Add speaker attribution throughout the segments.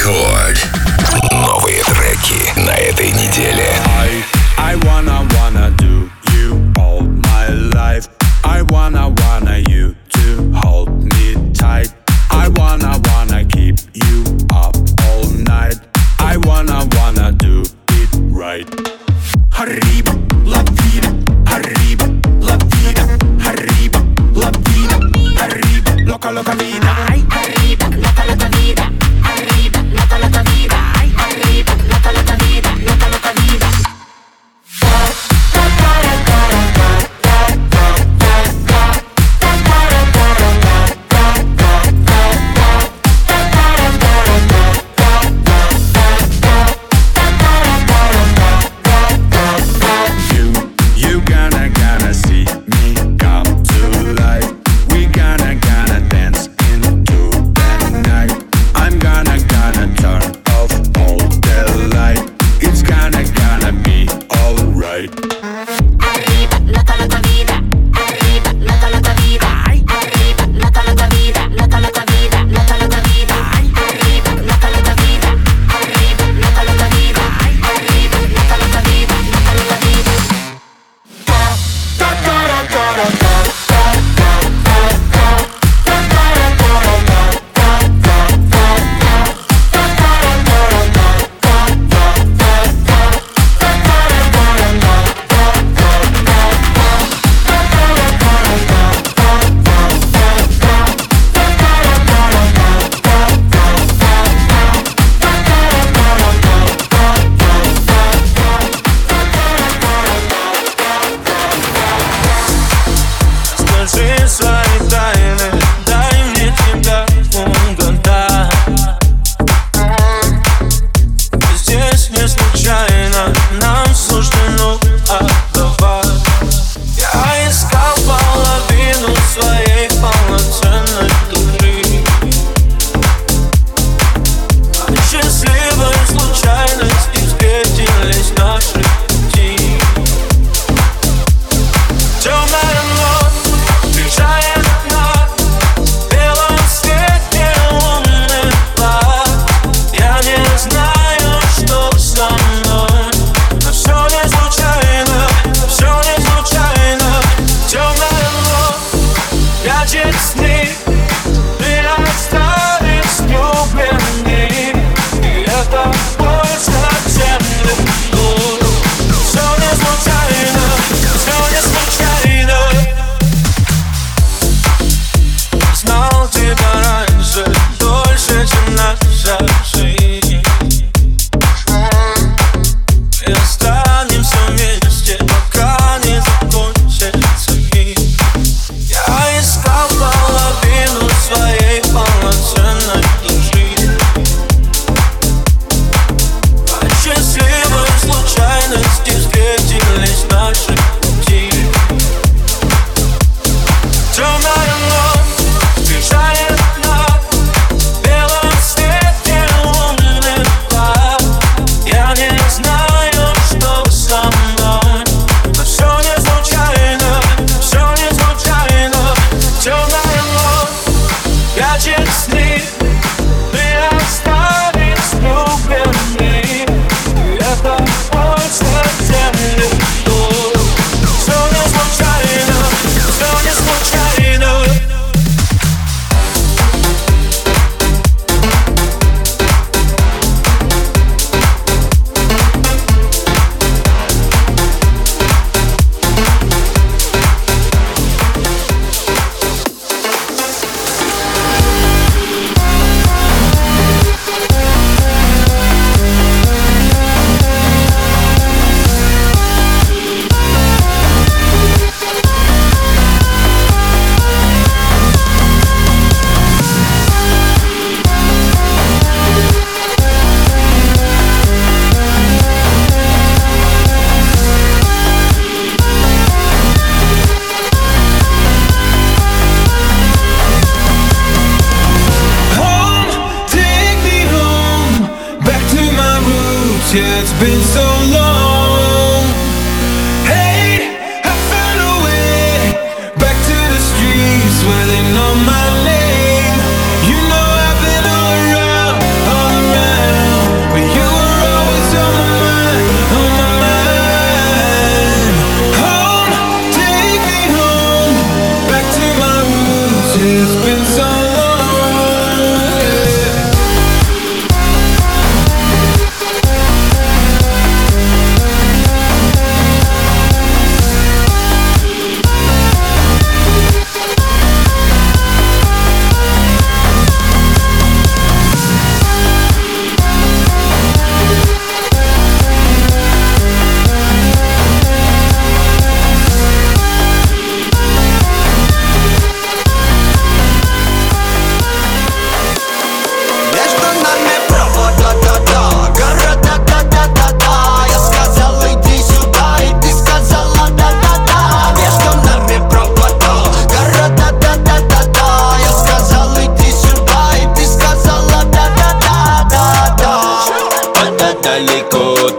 Speaker 1: Рекорд. Новые треки на этой неделе.
Speaker 2: I wanna do you all my life. I wanna you to hold me tight. I wanna keep you up all night. I wanna do it right. Arriba, la vida, arriba, la vida, arriba, la vida, arriba, loca, loca vida. Ay, arriba, loca, loca vida, arriba, loca, loca vida, ay, arriba, loca, loca vida, loca, loca vida.
Speaker 3: Yeah, it's been so long. Hey, I found a way back to the streets where they know my name. You know I've been all around, all around.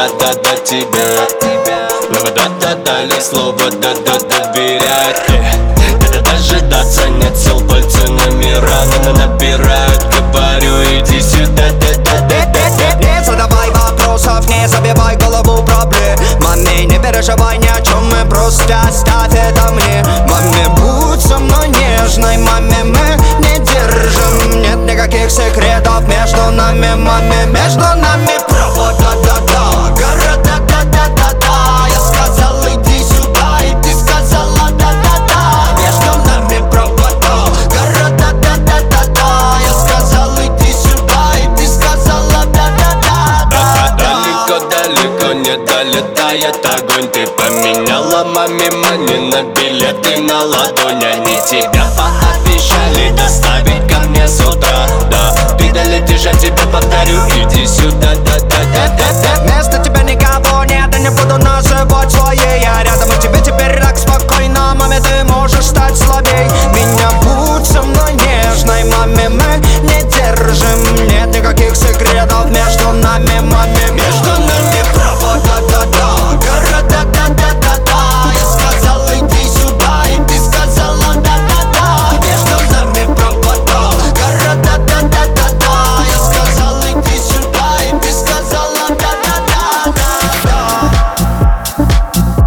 Speaker 4: да-да-да тебе. Но да-да-да, лишь слово да-да-да доверять. Дожидаться нет сил, пальцы номера набирают. Говорю, иди сюда, да-да-да-да.
Speaker 5: Не задавай вопросов, не забивай голову проблемами. Не переживай ни о чем, мы просто оставь это мне. Маме, будь со мной нежной, маме, мы не держим. Нет никаких секретов между нами, маме, между нами провода, да-да, города, да-да-да-да. Я сказал, иди сюда, и ты сказала, да-да-да. Между нами провода, города, да-да-да-да. Я сказал, иди сюда, и ты сказала, да-да-да.
Speaker 4: Далеко-далеко не долетает огонь. Ты поменяла маме мани на билеты на ладонь. Они тебя пообещали доставить ко мне с утра. Да, ты долетишь, я тебе повторю, иди сюда, да-да-да-да-да.
Speaker 5: Вместо тебя никого нет, и не буду называть своей. Я рядом, и тебе теперь так спокойно. Маме, ты можешь стать слабей. Меня будь со мной нежной, маме, мы не держим. Нет никаких секретов между нами, маме. Между нами провода, да-да, города, да-да-да-да. Я сказал, иди сюда, и ты сказала, да-да-да. Между нами провода, города, да-да-да-да. Я сказал, иди сюда, и ты сказала, да-да-да-да-да.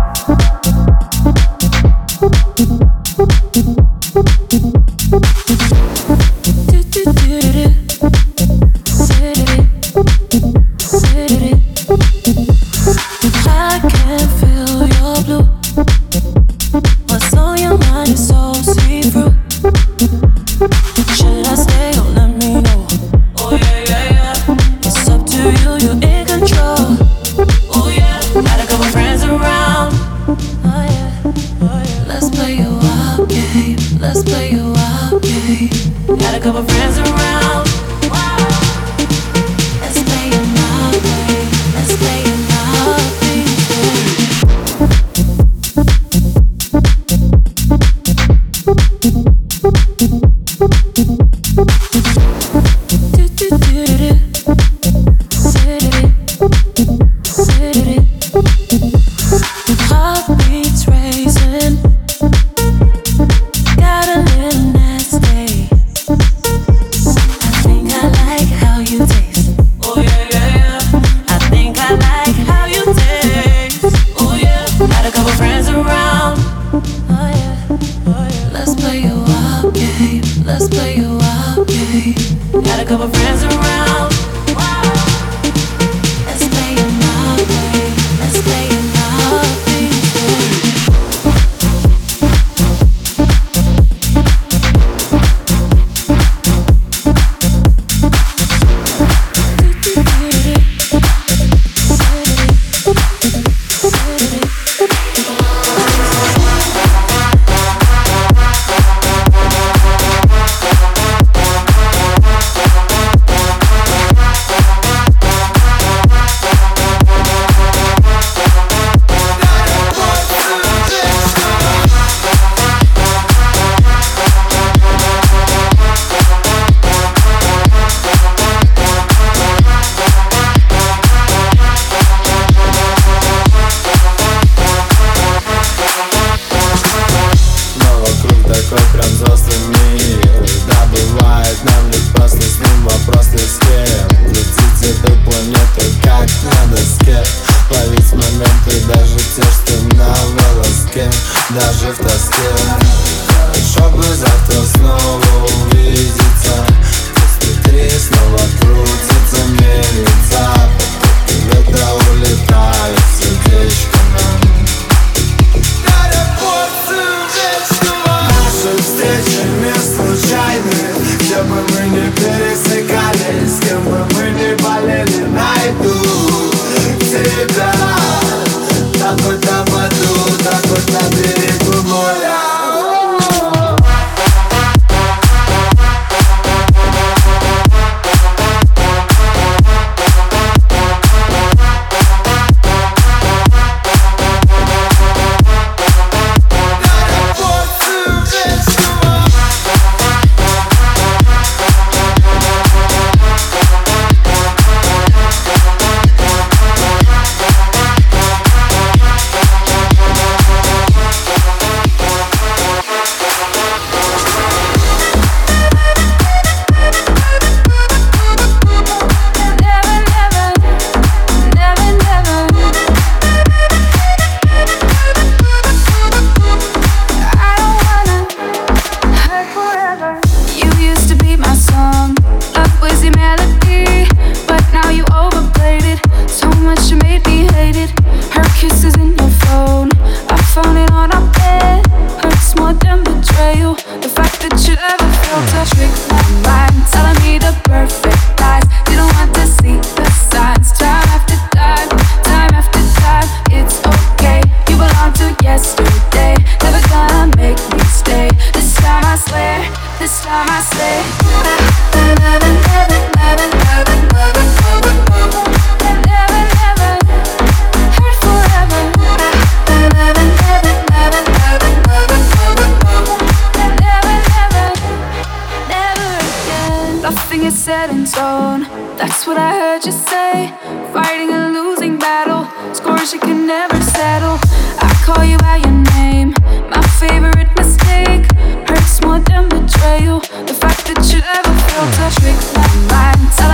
Speaker 6: in stone. That's what I heard you say. Fighting a losing battle, scores you can never settle. I call you by your name, my favorite mistake. Hurts more than betrayal, the fact that you ever felt a trick my mind.